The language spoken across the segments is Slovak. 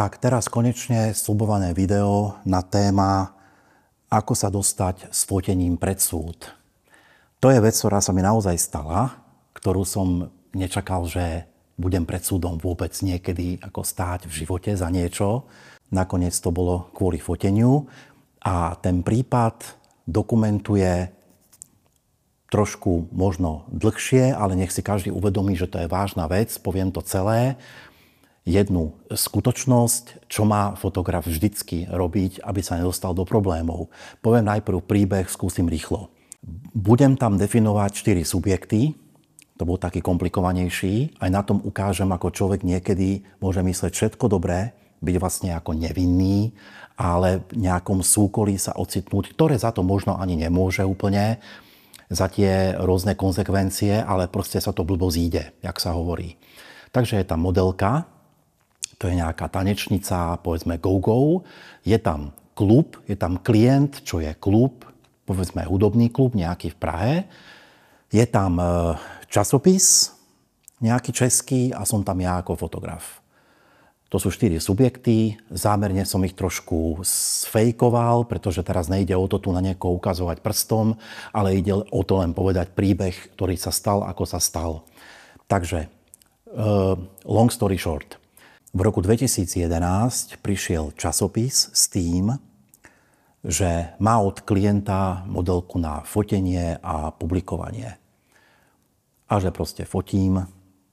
Tak, teraz konečne sľubované video na téma, ako sa dostať s fotením pred súd. To je vec, ktorá sa mi naozaj stala, ktorú som nečakal, že budem pred súdom vôbec niekedy ako stáť v živote za niečo. Nakoniec to bolo kvôli foteniu a ten prípad dokumentuje trošku možno dlhšie, ale nech si každý uvedomí, že to je vážna vec, poviem to celé. Jednu skutočnosť, čo má fotograf vždycky robiť, aby sa nedostal do problémov. Poviem najprv príbeh, skúsim rýchlo. Budem tam definovať 4 subjekty, to bol taký komplikovanejší, aj na tom ukážem, ako človek niekedy môže mysleť všetko dobré, byť vlastne ako nevinný, ale v nejakom súkolí sa ocitnúť, ktoré za to možno ani nemôže úplne, za tie rôzne konsekvencie, ale proste sa to blbo zíde, jak sa hovorí. Takže je tam modelka, to je nejaká tanečnica, povedzme go-go, je tam klub, je tam klient, čo je klub, povedzme hudobný klub, nejaký v Prahe, je tam časopis, nejaký český a som tam ja ako fotograf. To sú 4 subjekty, zámerne som ich trošku sfejkoval, pretože teraz nejde o to tu na niekoho ukazovať prstom, ale ide o to len povedať príbeh, ktorý sa stal, ako sa stal. Takže, long story short. V roku 2011 prišiel časopis s tým, že má od klienta modelku na fotenie a publikovanie. A že proste fotím.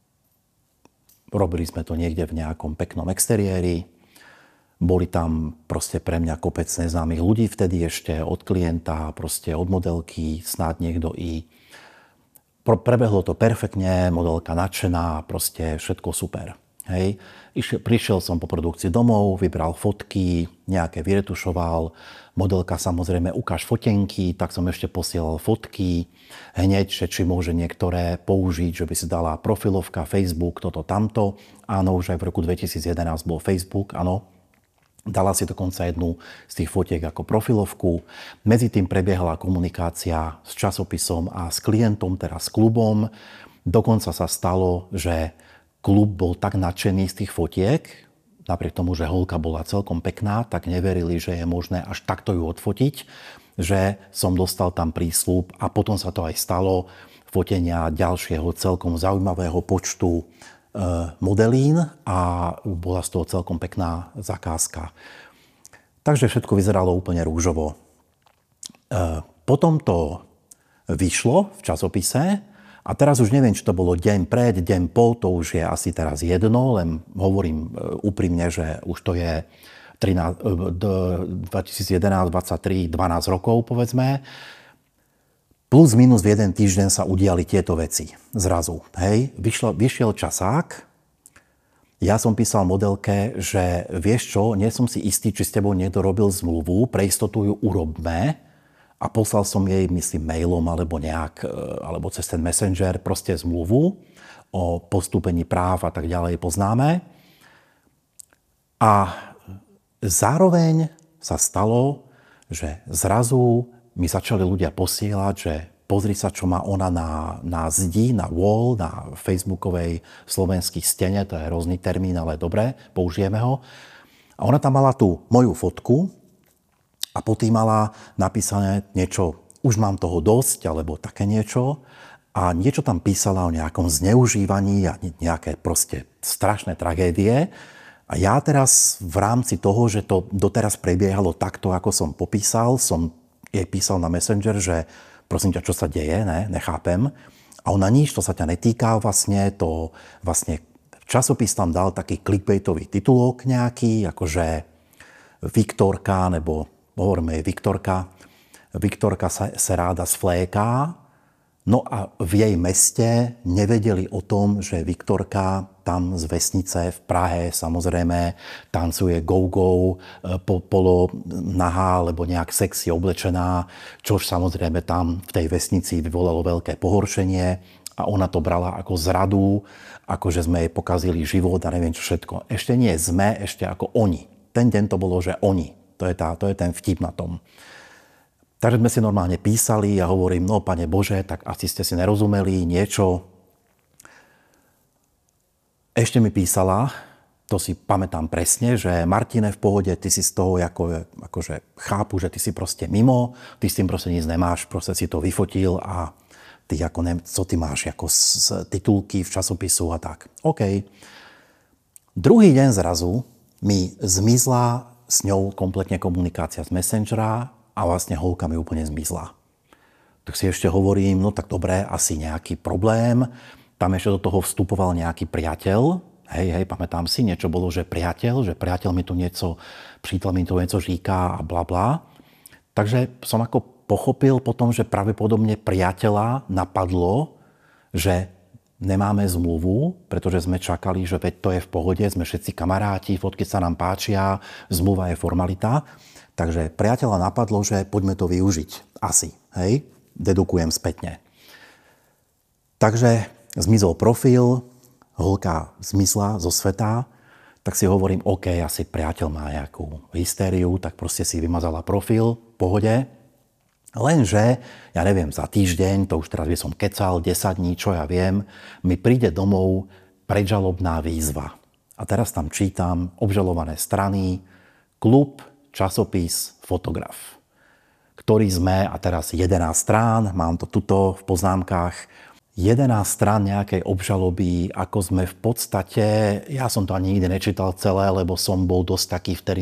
Robili sme to niekde v nejakom peknom exteriéri. Boli tam proste pre mňa kopec neznámych ľudí vtedy ešte od klienta, proste od modelky, snáď niekto i. Prebehlo to perfektne, modelka nadšená, proste všetko super. Hej. Prišiel som po produkcii domov, vybral fotky, nejaké vyretušoval. Modelka samozrejme ukáž fotenky, tak som ešte posielal fotky. Hneď, že či môže niektoré použiť, že by si dala profilovka, Facebook, toto, tamto. Áno, už aj v roku 2011 bol Facebook, áno. Dala si dokonca jednu z tých fotiek ako profilovku. Medzi tým prebiehala komunikácia s časopisom a s klientom, teraz s klubom. Dokonca sa stalo, že klub bol tak nadšený z tých fotiek, napriek tomu, že holka bola celkom pekná, tak neverili, že je možné až takto ju odfotiť, že som dostal tam prísľub a potom sa to aj stalo, fotenia ďalšieho celkom zaujímavého počtu modelín a bola z toho celkom pekná zakázka. Takže všetko vyzeralo úplne rúžovo. Potom to vyšlo v časopise. A teraz už neviem, či to bolo deň pred, deň po, to už je asi teraz jedno, len hovorím úprimne, že už to je 2011, 23, 12 rokov, povedzme. Plus minus v jeden týždeň sa udiali tieto veci zrazu. Hej, vyšiel časák, ja som písal modelke, že vieš čo, nie som si istý, či s tebou niekto robil zmluvu, pre istotu ju urobme. A poslal som jej, myslím, mailom alebo alebo cez ten messenger proste zmluvu o postúpení práv a tak ďalej poznáme. A zároveň sa stalo, že zrazu mi začali ľudia posielať, že pozri sa, čo má ona na zdi, na wall, na facebookovej slovenskej stene, to je rôzny termín, ale dobre, použijeme ho. A ona tam mala tú moju fotku, a potom mala napísané niečo, už mám toho dosť, alebo také niečo. A niečo tam písala o nejakom zneužívaní a nejaké proste strašné tragédie. A ja teraz v rámci toho, že to doteraz prebiehalo takto, ako som popísal, som jej písal na Messenger, že prosím ťa, čo sa deje, ne? Nechápem. A ona nič, to sa ťa netýka vlastne, to vlastne časopis tam dal taký clickbaitový titulok nejaký, akože Viktorka, nebo hovoríme Viktorka. Viktorka sa ráda sfléká. No a v jej meste nevedeli o tom, že Viktorka tam z vesnice v Prahe samozrejme tancuje go-go, polo nahá, alebo nejak sexy oblečená, čož samozrejme tam v tej vesnici vyvolalo veľké pohoršenie a ona to brala ako zradu, ako že sme jej pokazili život a neviem čo všetko. Ešte nie sme, ešte ako oni. Ten deň to bolo, že oni. To je ten vtip na tom. Takže sme si normálne písali a hovorím, no Pane Bože, tak asi ste si nerozumeli niečo. Ešte mi písala, To si pamätám presne, že Martine, v pohode, ty si z toho akože chápu, že ty si proste mimo, ty s tým proste nic nemáš, proste si to vyfotil a ty ako co ty máš ako z titulky v časopisu a tak. OK. Druhý deň zrazu mi zmizla s ňou kompletne komunikácia z Messengera a vlastne holka mi úplne zmizla. Tak si ešte hovorím, no tak dobre, asi nejaký problém. Tam ešte do toho vstupoval nejaký priateľ. Hej, pamätám si, niečo bolo, že priateľ mi tu niečo, přítel mi tu niečo říká a bla bla. Takže som ako pochopil potom, že pravdepodobne priateľa napadlo, že nemáme zmluvu, pretože sme čakali, že veď to je v pohode, sme všetci kamaráti, fotky sa nám páčia, zmluva je formalita. Takže priateľa napadlo, že poďme to využiť. Asi, hej? Dedukujem spätne. Takže zmizol profil, holka zmizla zo sveta, tak si hovorím, OK, asi priateľ má nejakú hystériu, tak proste si vymazala profil, v pohode. Lenže, ja neviem, za týždeň, to už teraz by som kecal, 10 dní, čo ja viem, mi príde domov predžalobná výzva. A teraz tam čítam obžalované strany, klub, časopis, fotograf, ktorý sme, a teraz 11 strán, mám to tuto v poznámkach, 11 strán nejakej obžaloby, ako sme v podstate, ja som to ani nikdy nečítal celé, lebo som bol dosť taký vtedy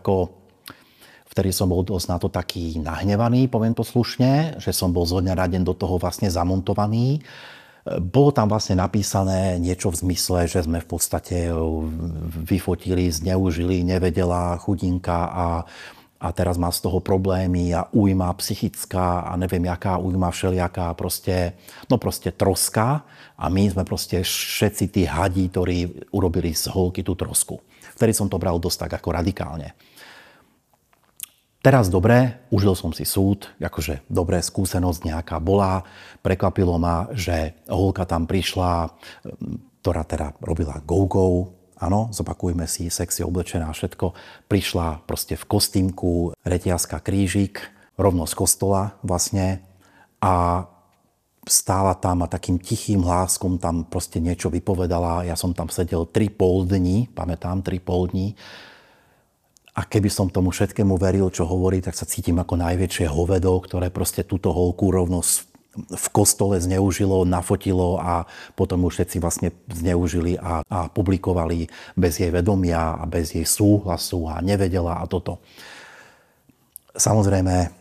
som bol dosť na to taký nahnevaný, poviem to slušne, že som bol zo dňa na deň do toho vlastne zamontovaný. Bolo tam vlastne napísané niečo v zmysle, že sme v podstate vyfotili, zneužili, nevedela chudinka a teraz má z toho problémy a újma psychická a neviem jaká újma všelijaká, proste troska a my sme proste všetci tí hadi, ktorí urobili z holky tú trosku. Vtedy som to bral dosť tak ako radikálne. Teraz dobre, užil som si súd, akože dobré skúsenosť nejaká bola. Prekvapilo ma, že holka tam prišla, ktorá teda robila go-go, áno, zopakujme si, sexy oblečená, všetko. Prišla proste v kostýmku, reťazka, krížik, rovno z kostola vlastne a stála tam a takým tichým hláskom tam proste niečo vypovedala. Ja som tam sedel 3,5 dní, pamätám, 3,5 dní. A keby som tomu všetkému veril, čo hovorí, tak sa cítim ako najväčšie hovedo, ktoré proste túto holku rovno v kostole zneužilo, nafotilo a potom už všetci vlastne zneužili a publikovali bez jej vedomia a bez jej súhlasu a nevedela a toto. Samozrejme,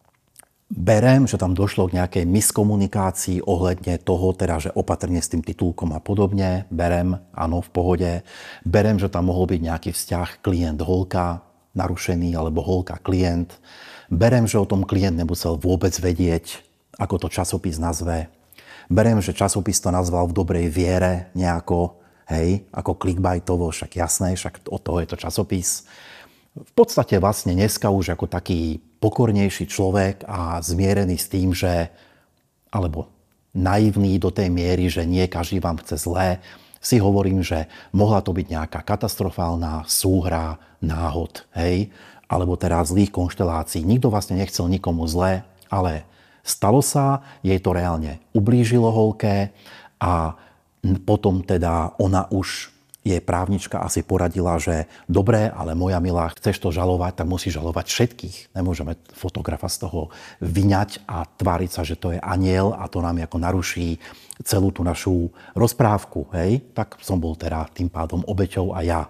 berem, že tam došlo k nejakej miskomunikácii ohľadne toho, teda, že opatrne s tým titulkom a podobne. Berem, áno, v pohode. Berem, že tam mohol byť nejaký vzťah klient-holka narušený, alebo holka-klient. Berem, že o tom klient nemusel vôbec vedieť, ako to časopis nazve. Berem, že časopis to nazval v dobrej viere nejako, hej, ako clickbaitovo, však jasné, však od toho je to časopis. V podstate vlastne dneska už ako taký pokornejší človek a zmierený s tým, že, alebo naivný do tej miery, že nie každý vám chce zlé, si hovorím, že mohla to byť nejaká katastrofálna súhra náhod, hej, alebo teda zlých konštelácií. Nikto vlastne nechcel nikomu zlé, ale stalo sa, jej to reálne ublížilo holke a potom teda ona už jej právnička asi poradila, že dobre, ale moja milá, chceš to žalovať, tak musíš žalovať všetkých. Nemôžeme fotografa z toho vyňať a tváriť sa, že to je anjel a to nám ako naruší celú tú našu rozprávku. Hej? Tak som bol teda tým pádom obeťou a ja.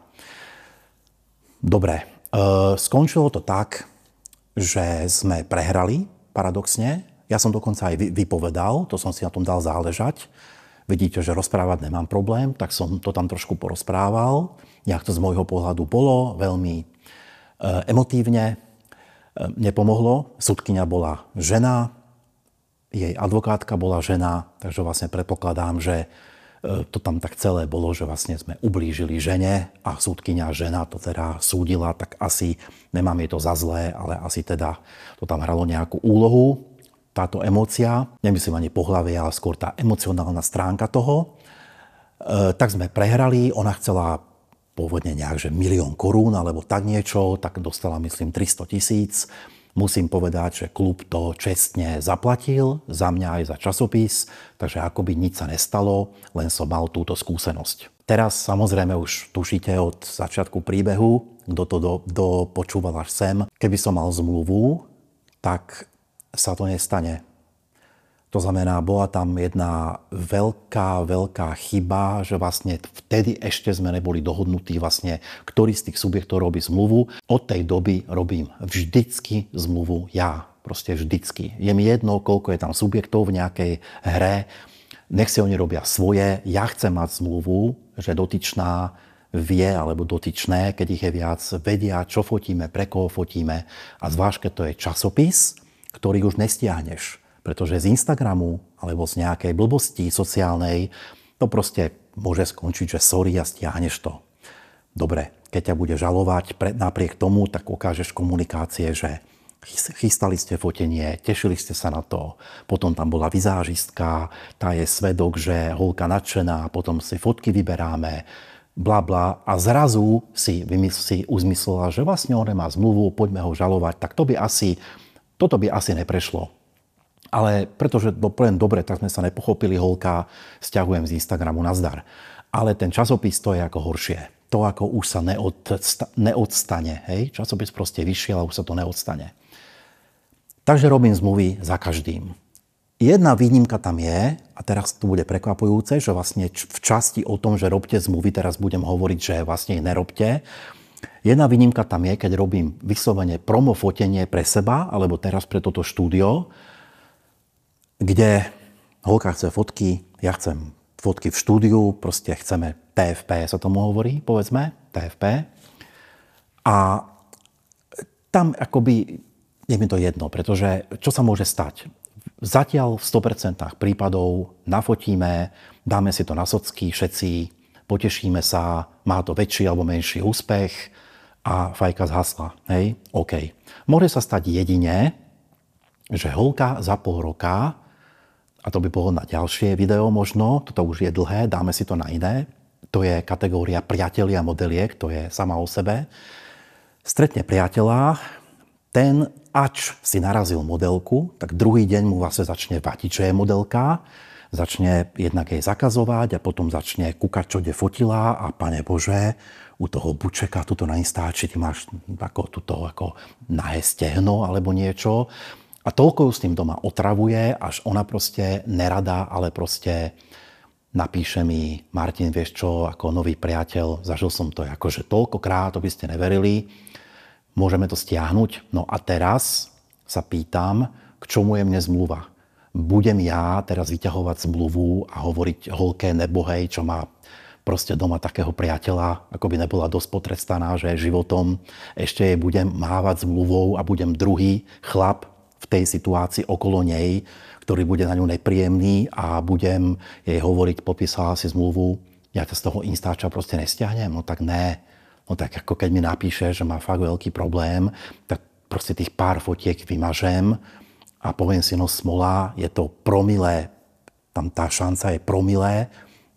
Dobre, skončilo to tak, že sme prehrali, paradoxne. Ja som dokonca aj vypovedal, to som si na tom dal záležať. Vidíte, že rozprávať nemám problém, tak som to tam trošku porozprával. Jak to z môjho pohľadu bolo, veľmi emotívne. Nepomohlo. Sudkyňa bola žena, jej advokátka bola žena, takže vlastne predpokladám, že to tam tak celé bolo, že vlastne sme ublížili žene a sudkyňa žena to teda súdila, tak asi nemám jej to za zlé, ale asi teda to tam hralo nejakú úlohu. Táto emócia, nemyslím ani pohlavie, ale skôr tá emocionálna stránka toho, tak sme prehrali. Ona chcela pôvodne nejak, že 1 000 000 korún alebo tak niečo, tak dostala myslím 300 000. Musím povedať, že klub to čestne zaplatil, za mňa aj za časopis, takže akoby nič sa nestalo, len som mal túto skúsenosť. Teraz samozrejme už tušíte od začiatku príbehu, kto to dopočúval až sem. Keby som mal zmluvu, tak sa to nestane. To znamená, bola tam jedna veľká chyba, že vlastne vtedy ešte sme neboli dohodnutí vlastne, ktorý z tých subjektov robí zmluvu. Od tej doby robím vždycky zmluvu ja. Proste vždycky. Je mi jedno, koľko je tam subjektov v nejakej hre. Nech si oni robia svoje. Ja chcem mať zmluvu, že dotyčná vie, alebo dotyčné, keď ich je viac, vedia, čo fotíme, pre koho fotíme. A zvlášť, keď to je časopis, ktorý už nestiahneš. Pretože z Instagramu alebo z nejakej blbosti sociálnej to proste môže skončiť, že sorry a stiahneš to. Dobre, keď ťa bude žalovať napriek tomu, tak ukážeš komunikácie, že chystali ste fotenie, tešili ste sa na to, potom tam bola vizážistka, tá je svedok, že holka nadšená, potom si fotky vyberáme, bla bla a zrazu si uzmyslela, že vlastne on nemá zmluvu, poďme ho žalovať, tak toto by asi neprešlo. Ale pretože poviem dobre, tak sme sa nepochopili, holka, sťahujem z Instagramu, nazdar. Ale ten časopis to je ako horšie. To ako už sa neodstane. Hej? Časopis proste vyšiel a už sa to neodstane. Takže robím zmluvy za každým. Jedna výnimka tam je, a teraz to bude prekvapujúce, že vlastne v časti o tom, že robte zmluvy, teraz budem hovoriť, že vlastne ich nerobte. Jedna výnimka tam je, keď robím vyslovene promo fotenie pre seba, alebo teraz pre toto štúdio, kde holka chce fotky, ja chcem fotky v štúdiu, proste chceme TFP, sa tomu hovorí, povedzme, TFP. A tam akoby je mi to jedno, pretože čo sa môže stať? Zatiaľ v 100% prípadov nafotíme, dáme si to na socky všetci, potešíme sa, má to väčší alebo menší úspech a fajka zhasla. Hej? OK. Môže sa stať jedine, že holka za pol roka, a to by bolo na ďalšie video možno, toto už je dlhé, dáme si to na iné, to je kategória priatelia modeliek, to je sama o sebe, stretne priateľa, ten, ač si narazil modelku, tak druhý deň mu vlastne začne vadiť, že je modelka, začne jednak jej zakazovať a potom začne kúkať, čo kde fotila a pane Bože, u toho bučeka, tuto na Instači, ty máš ako nahé stehno alebo niečo. A toľko s tým doma otravuje, až ona proste nerada, ale proste napíše mi, Martin, vieš čo, ako nový priateľ, zažil som to akože toľkokrát, to by ste neverili, môžeme to stiahnuť. No a teraz sa pýtam, k čomu je mne zmluva. Budem ja teraz vyťahovať zmluvu a hovoriť holke nebohej, čo má proste doma takého priateľa, ako by nebola dosť potrestaná, že životom ešte jej budem mávať zmluvou a budem druhý chlap v tej situácii okolo nej, ktorý bude na ňu nepríjemný a budem jej hovoriť, popísala si zmluvu, ja ťa z toho Instača proste nestiahnem. No tak ne. No tak ako keď mi napíše, že má fakt veľký problém, tak proste tých pár fotiek vymažem a poviem si, no smola, je to promilé, tam tá šanca je promilé,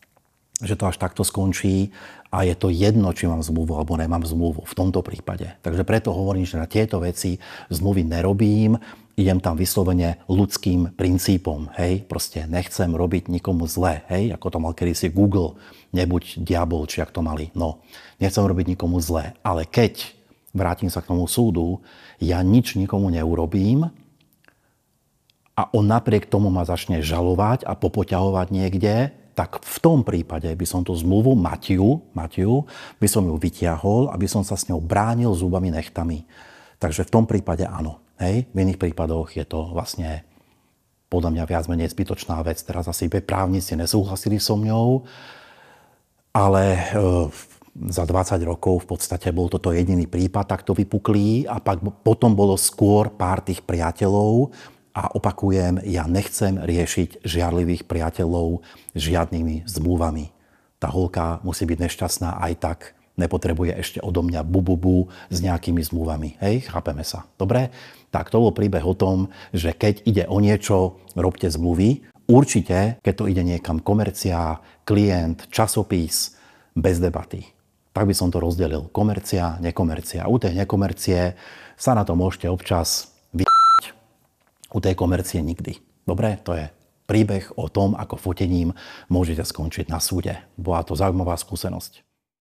že to až takto skončí a je to jedno, či mám zmluvu alebo nemám zmluvu v tomto prípade. Takže preto hovorím, že na tieto veci zmluvy nerobím, idem tam vyslovene ľudským princípom, hej, proste nechcem robiť nikomu zle, hej, ako to mal kedysi Google, nebuď diabol, či ak to mali, no, nechcem robiť nikomu zle, ale keď, vrátim sa k tomu súdu, ja nič nikomu neurobím a on napriek tomu ma začne žalovať a popoťahovať niekde, tak v tom prípade by som tú zmluvu Matiu, by som ju vytiahol, aby som sa s ňou bránil zubami nechtami. Takže v tom prípade áno. Hej? V iných prípadoch je to vlastne podľa mňa viac menej zbytočná vec. Teraz asi právnici nesúhlasili so mňou, ale za 20 rokov v podstate bol toto jediný prípad takto vypuklý a potom bolo skôr pár tých priateľov. A opakujem, ja nechcem riešiť žiarlivých priateľov žiadnymi zmluvami. Tá holka musí byť nešťastná aj tak, nepotrebuje ešte odo mňa bububu s nejakými zmluvami. Hej, chápeme sa. Dobre? Tak to bol príbeh o tom, že keď ide o niečo, robte zmluvy. Určite, keď to ide niekam komercia, klient, časopis, bez debaty. Tak by som to rozdelil. Komercia, nekomercia. U tej nekomercie sa na to môžete občas u tej komercie nikdy. Dobre? To je príbeh o tom, ako fotením môžete skončiť na súde. Bola to zaujímavá skúsenosť.